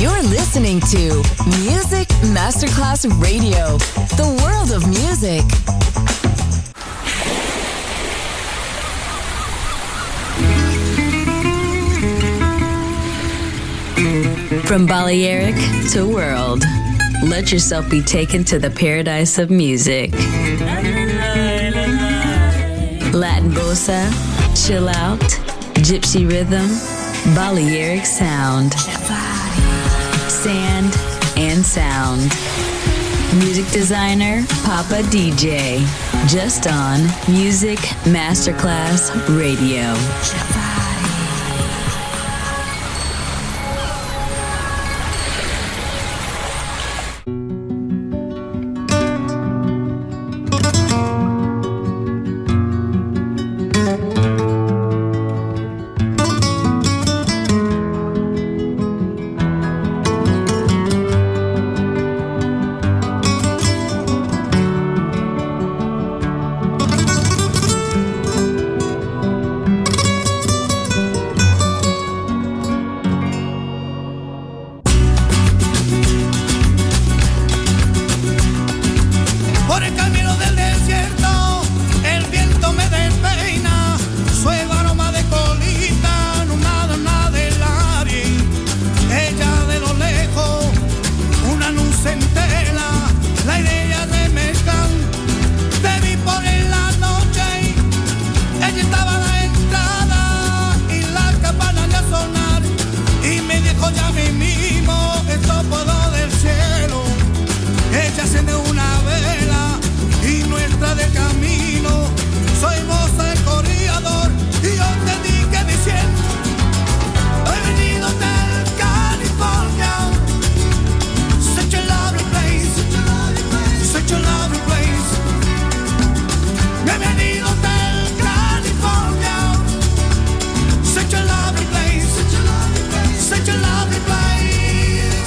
You're listening to Music Masterclass Radio, the world of music. From Balearic to world, let yourself be taken to the paradise of music. Latin bossa, chill out, gypsy rhythm, Balearic sound, sand and sound. Music designer, Papa DJ, just on Music Masterclass Radio. Such a lovely place.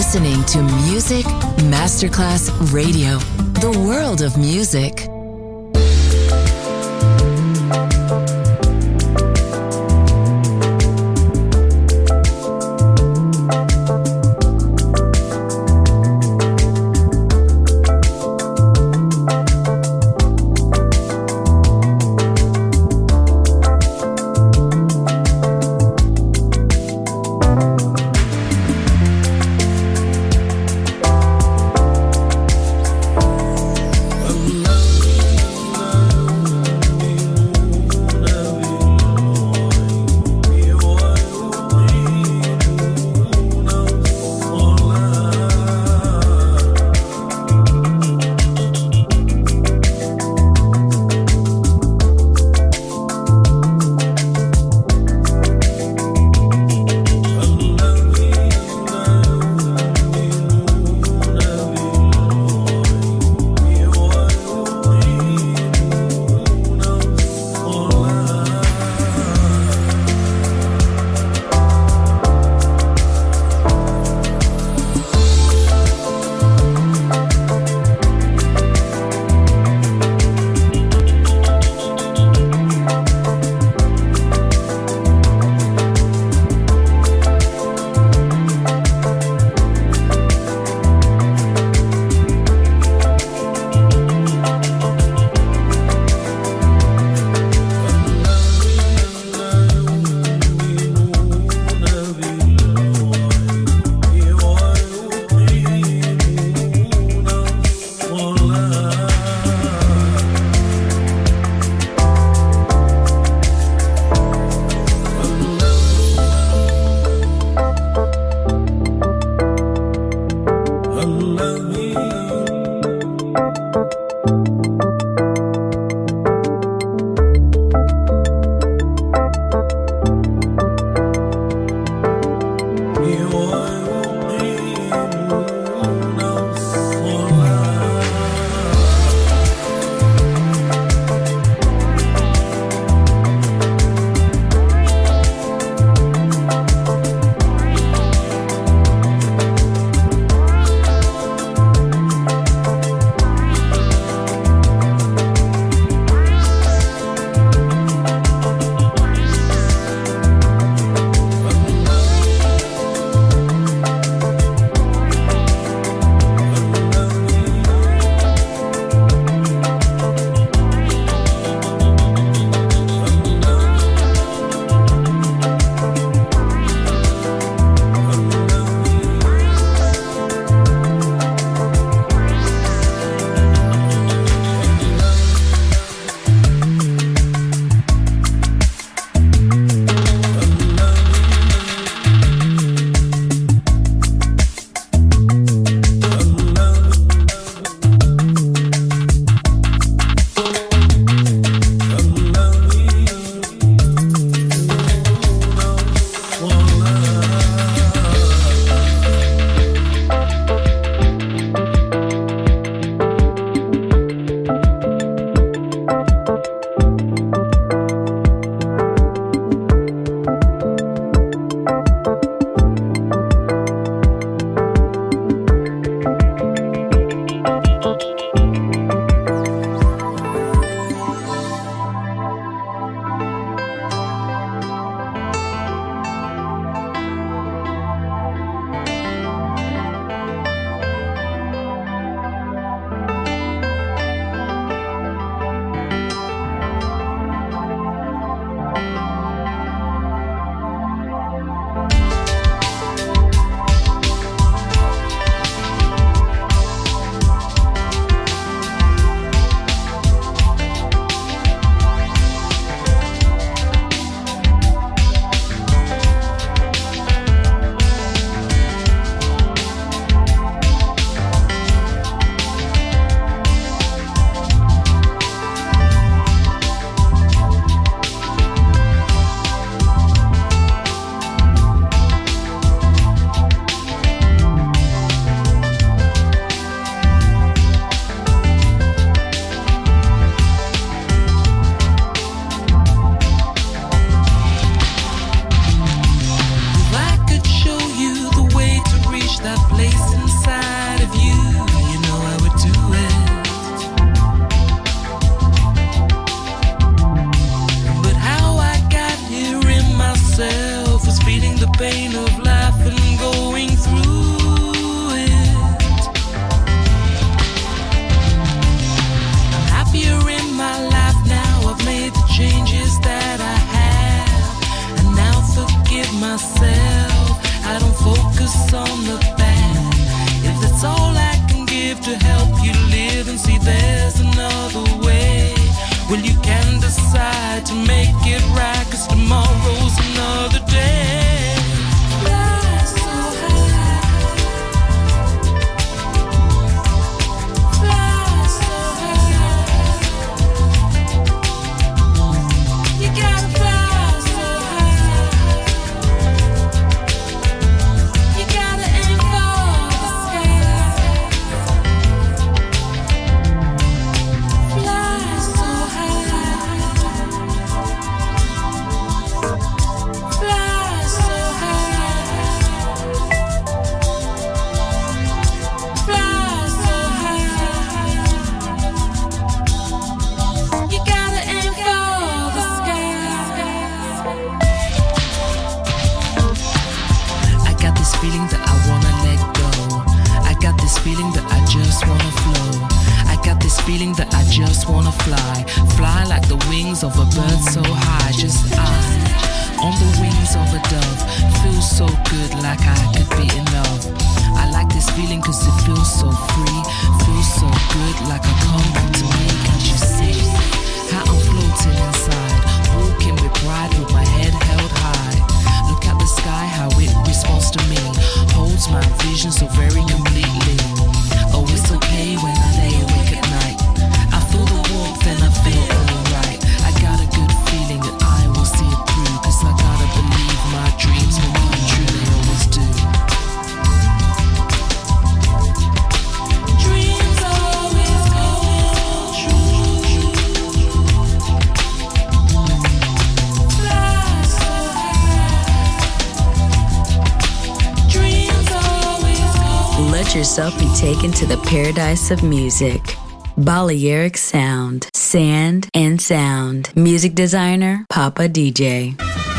listening to Music Masterclass Radio, the world of music. Love I just wanna fly, fly like the wings of a bird so high. Just on the wings of a dove, feels so good like I could be in love. I like this feeling cause it feels so free, feels so good like I come to me. Can't you see how I'm floating inside, walking with pride with my head held high. Look at the sky, how it responds to me, holds my vision so very completely. Oh, it's okay when I lay awake at night, I feel the warmth and I feel alright. I got a good feeling that I will see it through, cause I gotta believe my dreams will come true, they always do. Dreams always come true. Fly so high. Dreams always come. Let yourself be taken to the paradise of music. Balearic Sound, Sand and Sound. Music designer, Papa DJ.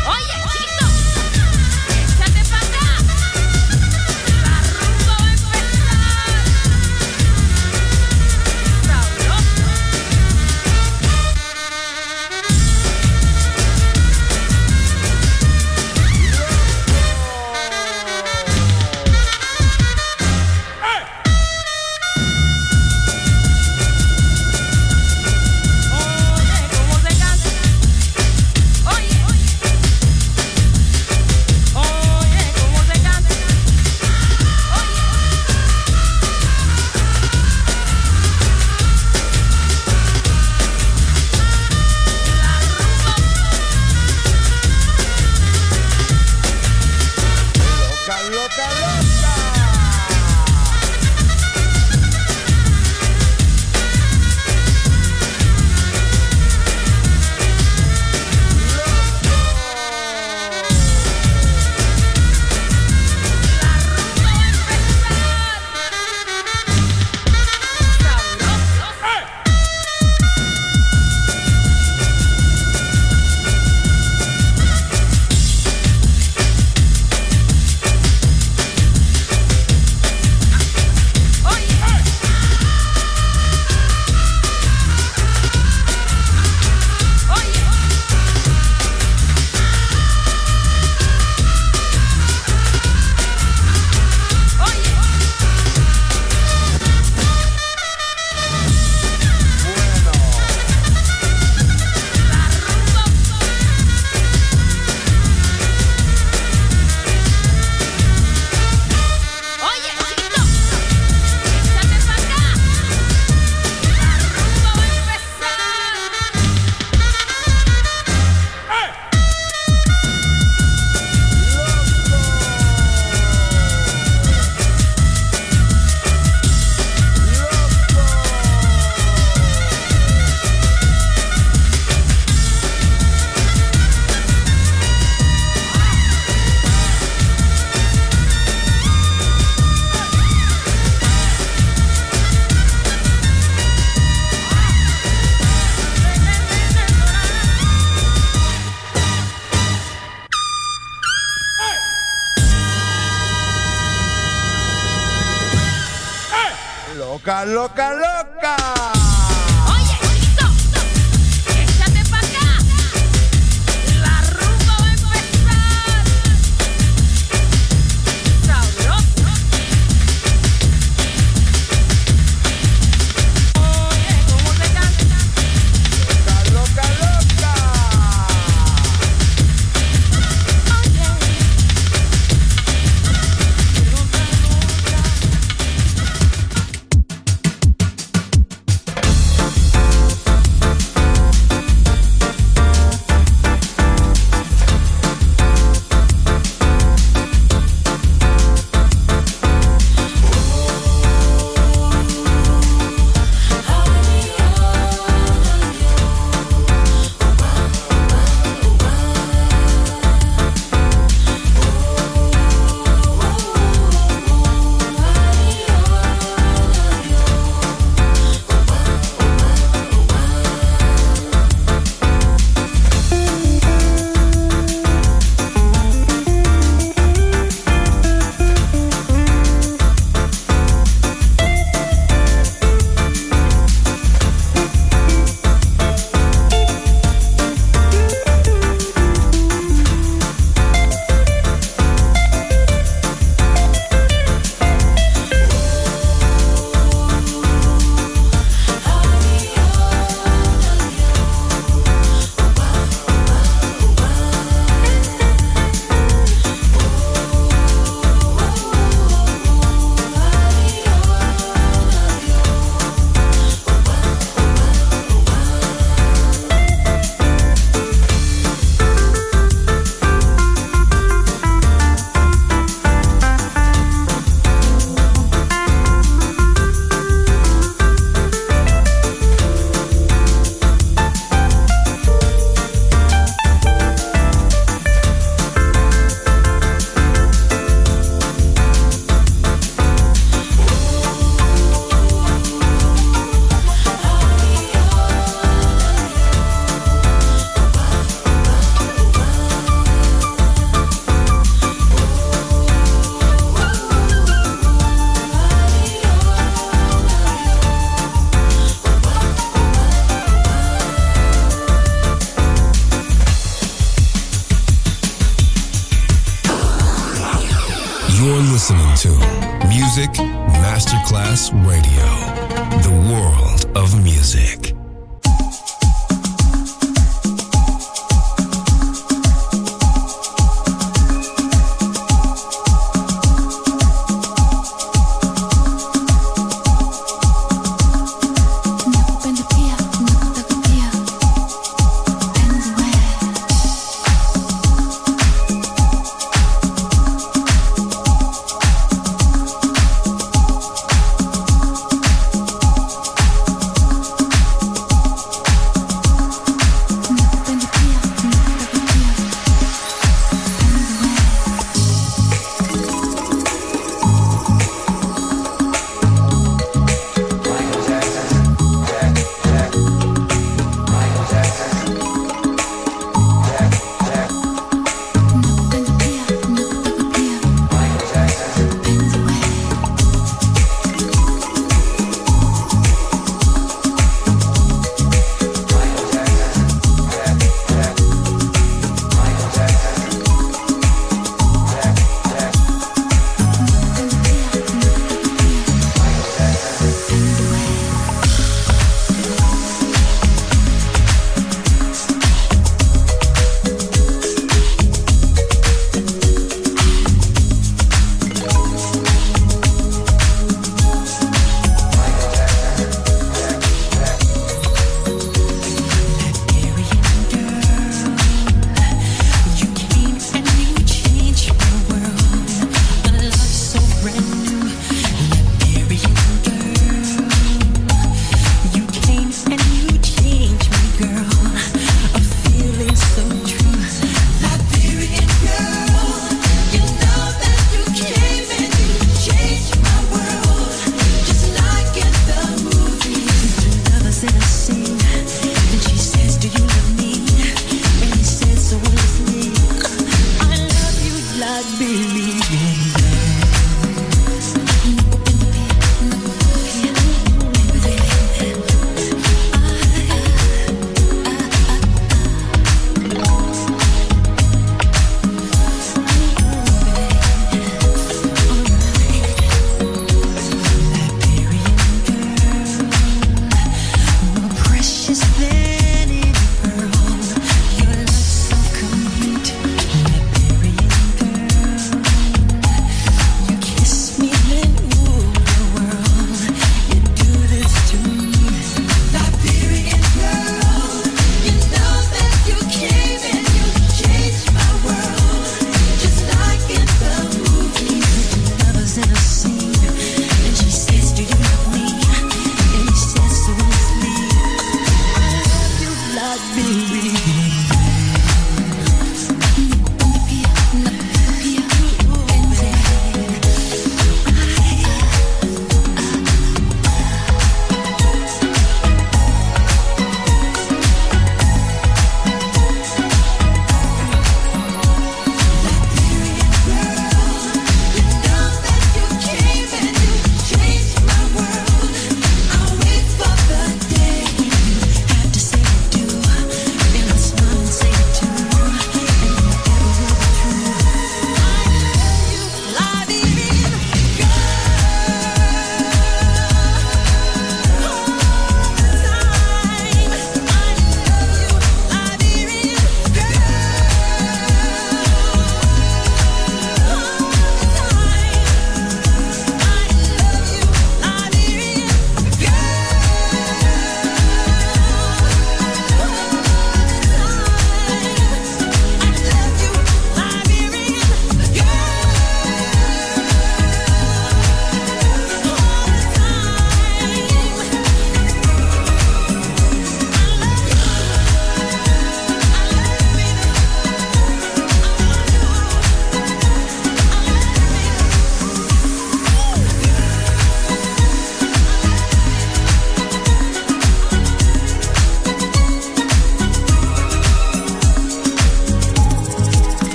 Loca, loca, loca. Oye, chiquito, échate pa' acá. La rumba va a empezar. Sabroso. Oye, cómo se canta. Loca, loca, loca. Oye. listening to Music Masterclass Radio, the world of music.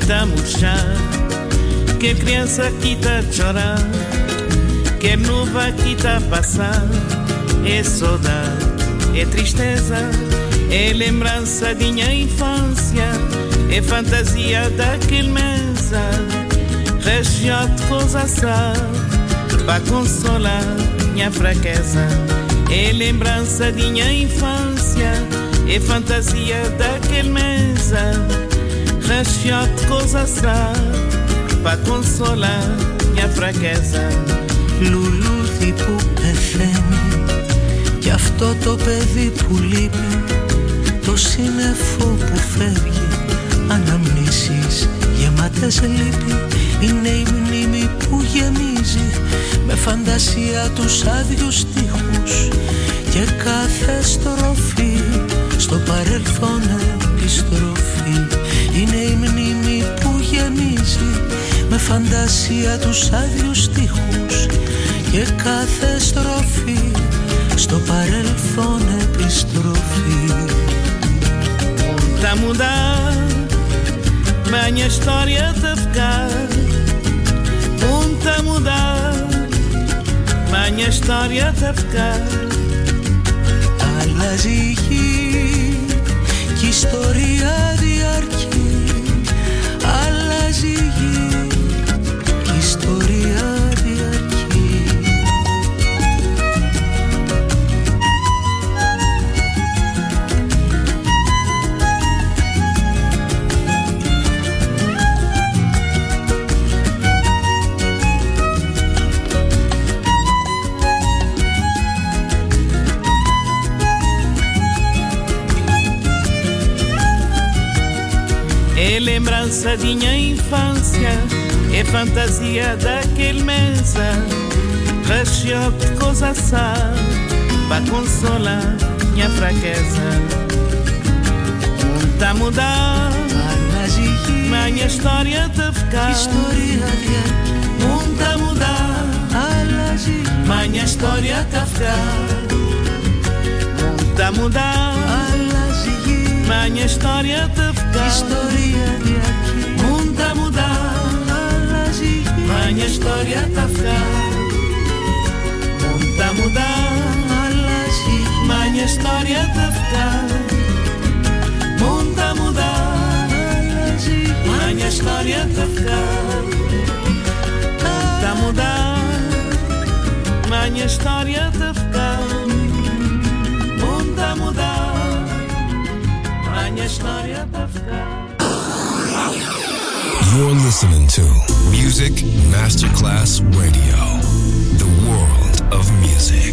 tá a murchar, que criança aqui tá a chorar, que nuvem aqui tá a passar. É saudade, é tristeza, é lembrança de minha infância, é fantasia daquele mesa, região de coisa sabe, para consolar minha fraqueza. É lembrança de minha infância, é fantasia daquele mesa, região de coisa sabe, para consolar minha fraqueza. Λουλούδι που πεθαίνει κι αυτό το παιδί που λείπει, το σύννεφο που φεύγει, αναμνήσεις γεμάτες λύπη. Είναι η μνήμη που γεμίζει με φαντασία τους άδειους στίχους και κάθε στροφή στο παρελθόν επιστροφή. Είναι η μνήμη που γεμίζει με φαντασία τους άδειους στίχους και κάθε στροφή στο παρελθόν επιστροφή. Tá mudar, minha história tá ficar. Tá mudar, minha história tá ficar. Αλλάζει η γη κι η ιστορία διαρκεί. Αλλάζει η γη κι η ιστορία διαρκεί. É lembrança de minha infância, é fantasia daquele mesa, região de coisa sabe, para consolar minha fraqueza. Tá a mudar, minha história tá a ficar. Tá a mudar, minha história tá a ficar. Tá a mudar, minha história tá a ficar. Tá a mudar, minha história tá a ficar. Tá a mudar, minha história tá a ficar. Tá a mudar, minha história tá a ficar. Tá a mudar, minha história tá a ficar. Tá a mudar, minha história tá a ficar. You're listening to Music Masterclass Radio, the world of music.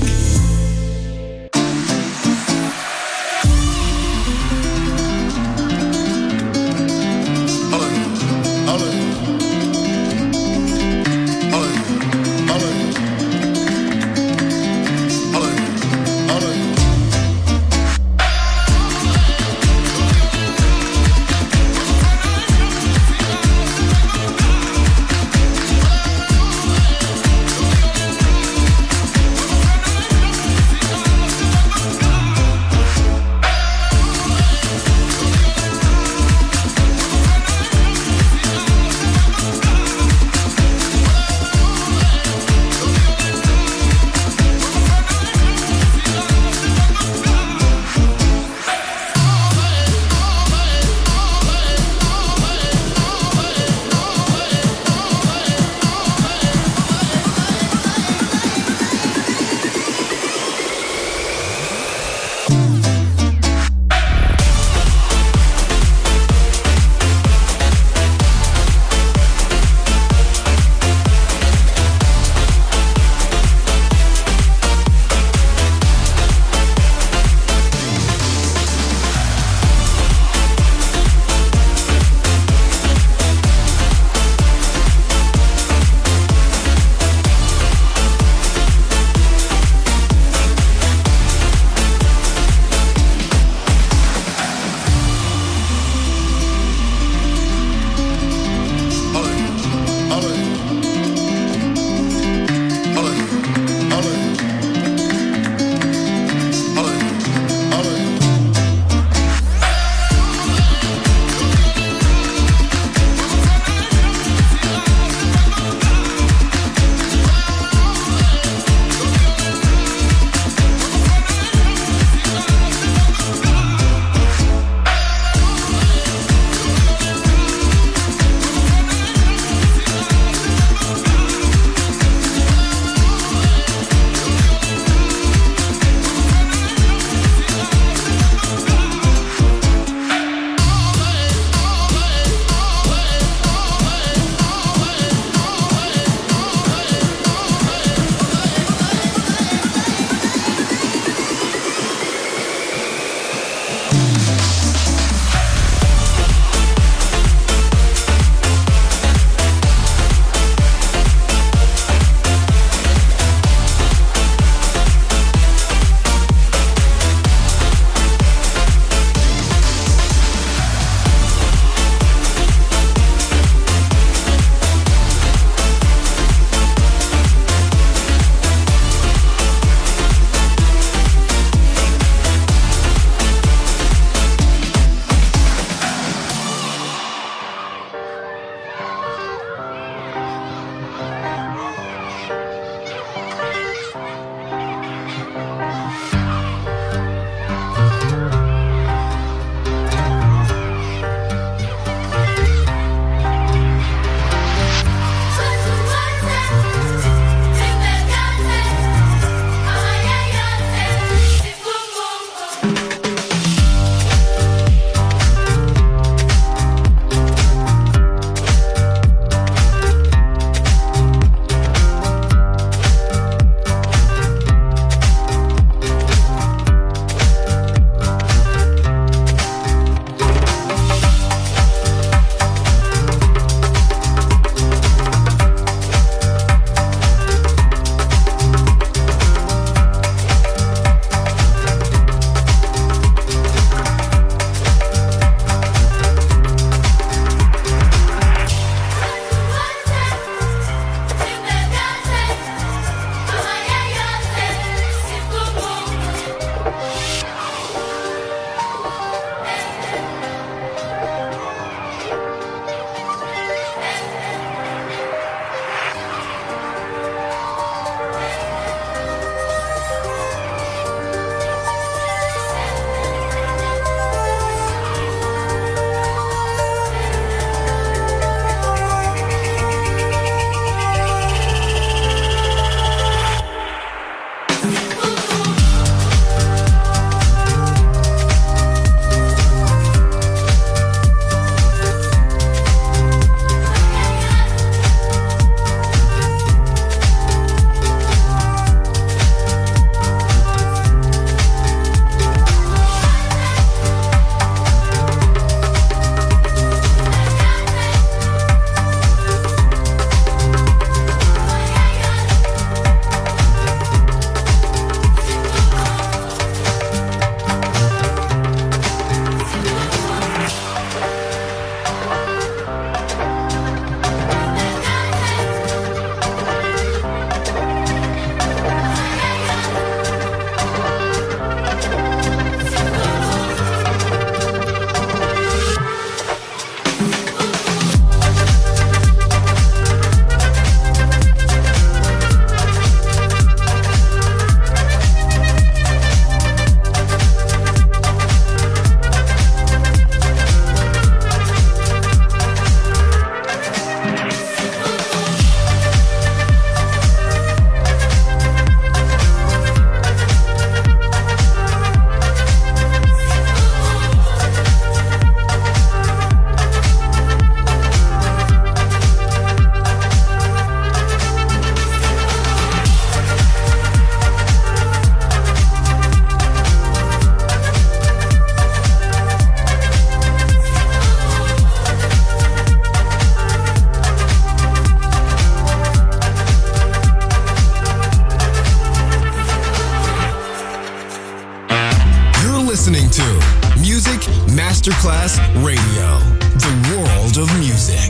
listening to Music Masterclass Radio, the world of music.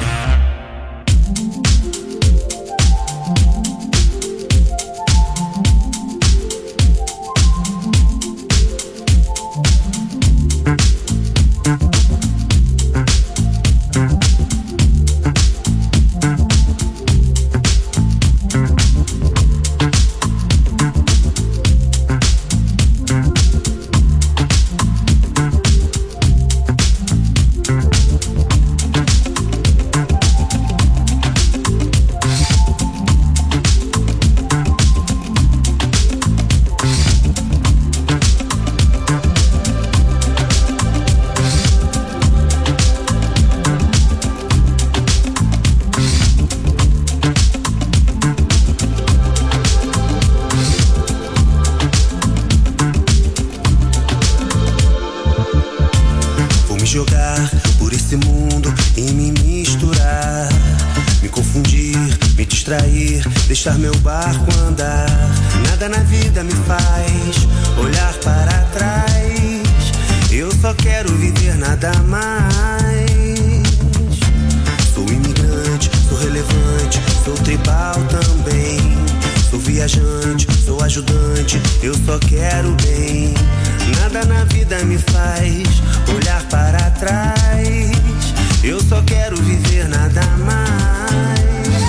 Deixar meu barco andar, nada na vida me faz olhar para trás. Eu só quero viver nada mais. Sou imigrante, sou relevante, sou tribal também. Sou viajante, sou ajudante, eu só quero bem. Nada na vida me faz olhar para trás. Eu só quero viver nada mais.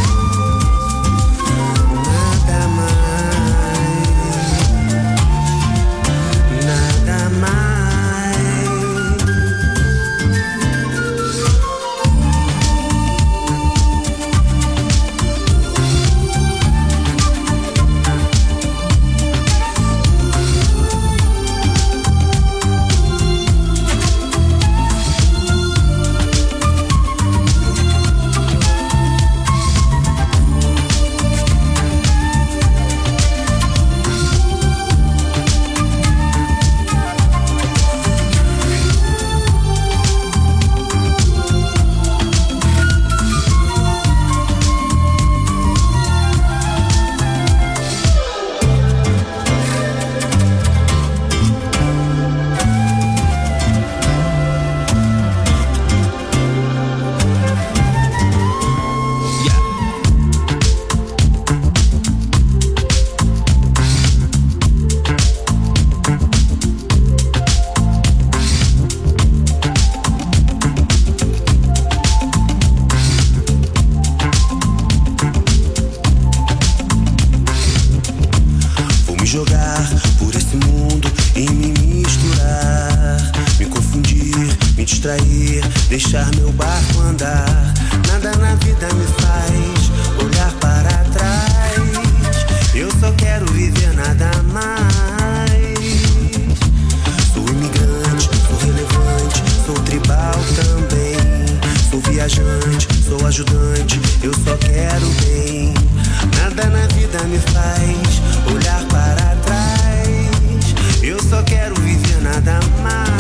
Deixar meu barco andar, nada na vida me faz olhar para trás. Eu só quero viver nada mais. Sou imigrante, sou relevante, sou tribal também. Sou viajante, sou ajudante, eu só quero bem. Nada na vida me faz olhar para trás. Eu só quero viver nada mais.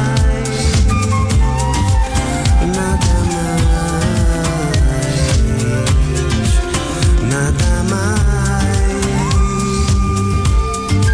Nada mais, nada mais.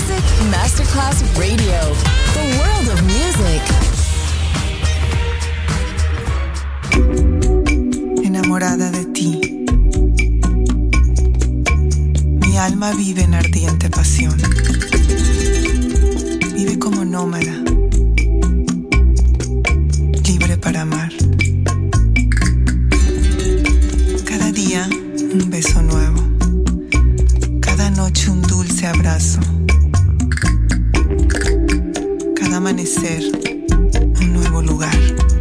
Music Masterclass Radio. The world of music. Enamorada de ti. Mi alma vive en ardiente pasión. Vive como nómada, libre para amar. Cada día un beso nuevo, cada noche un dulce abrazo, cada amanecer un nuevo lugar.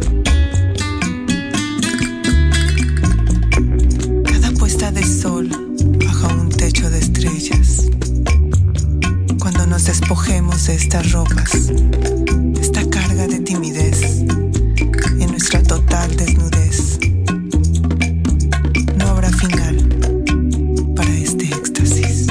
Cada puesta de sol bajo un techo de estrellas. Cuando nos despojemos de estas ropas, esta carga de timidez, en nuestra total desnudez, no habrá final para este éxtasis.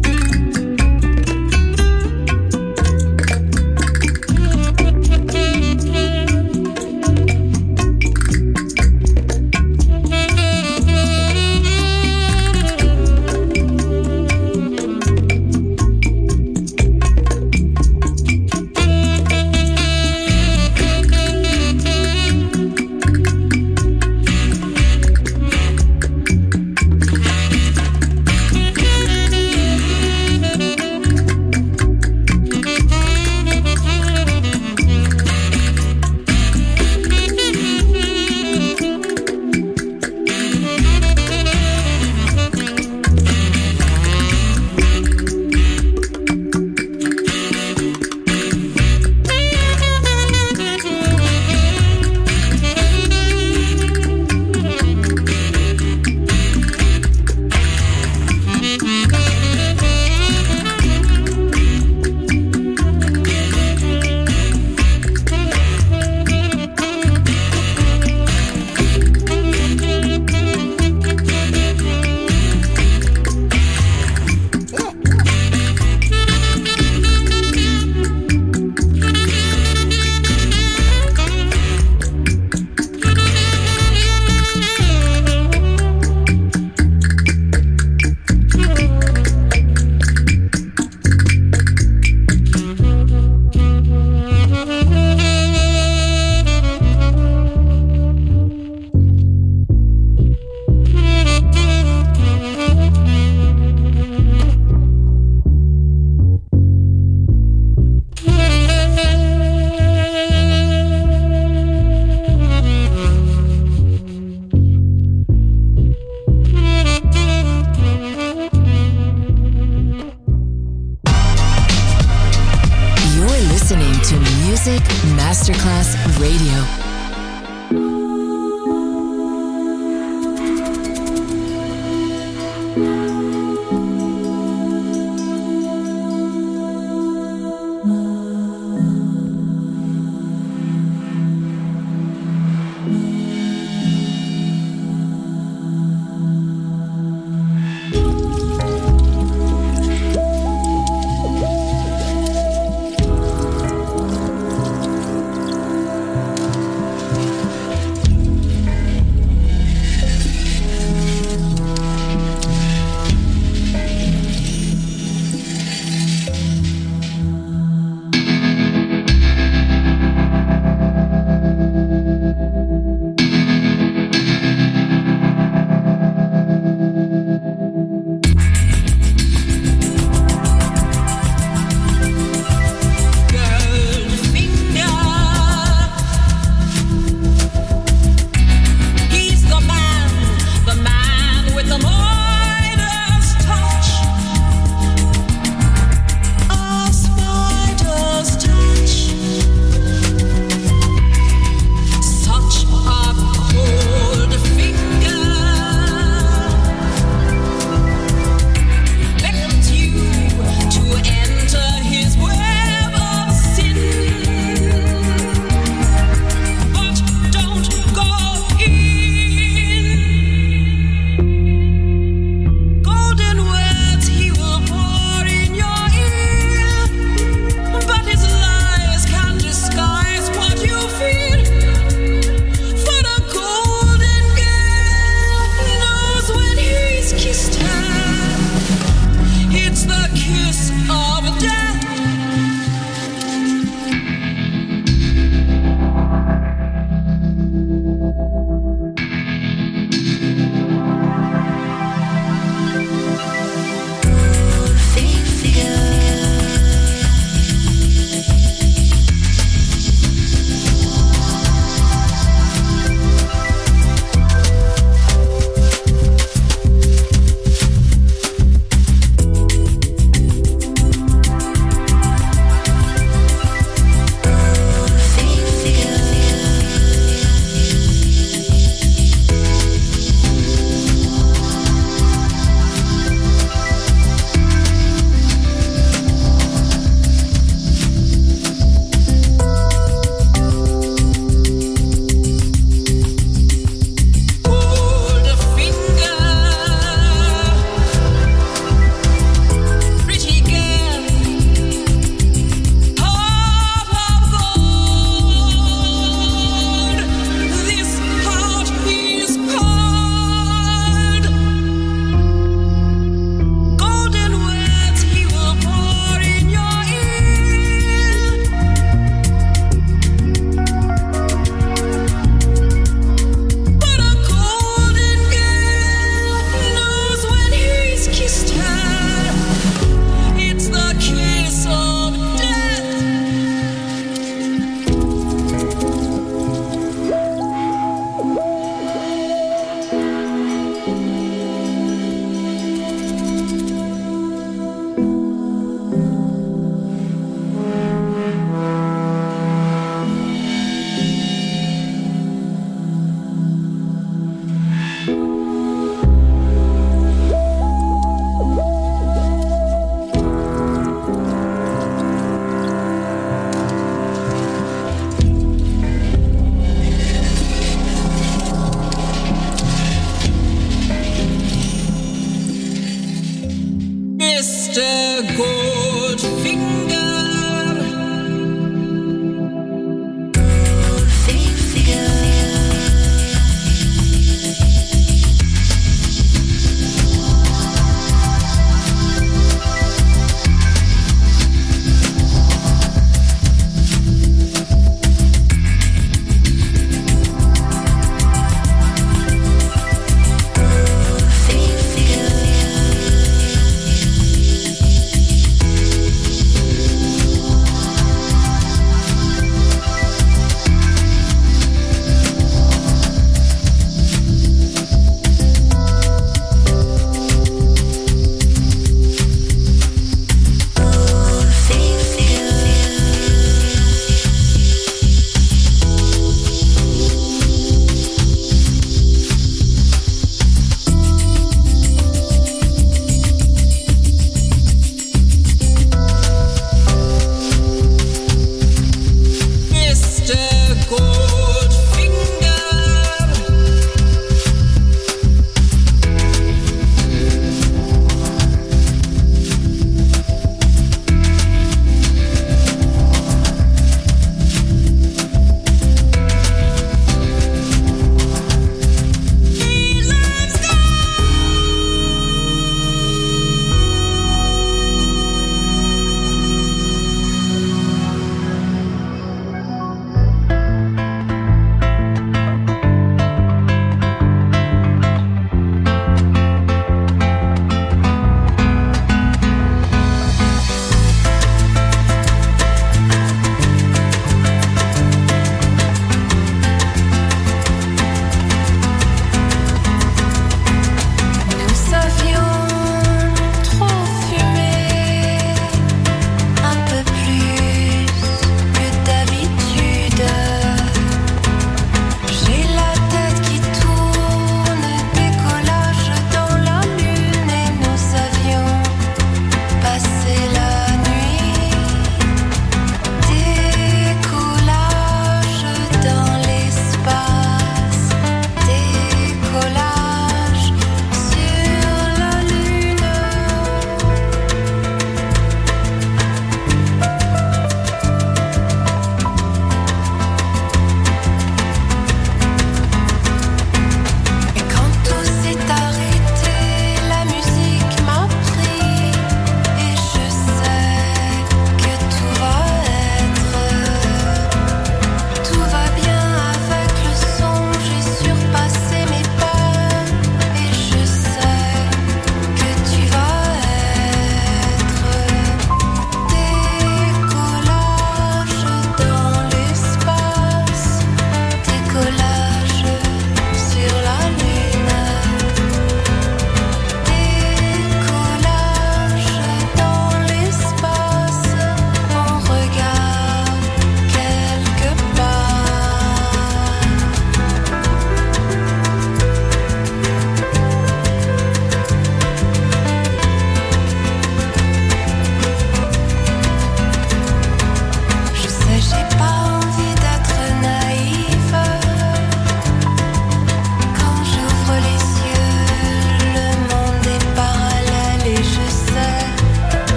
Masterclass Radio.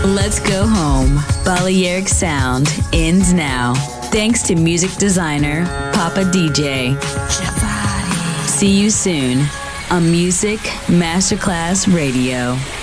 Let's go home. Balearic Sound ends now. Thanks to music designer Papa DJ. See you soon on Music Masterclass Radio.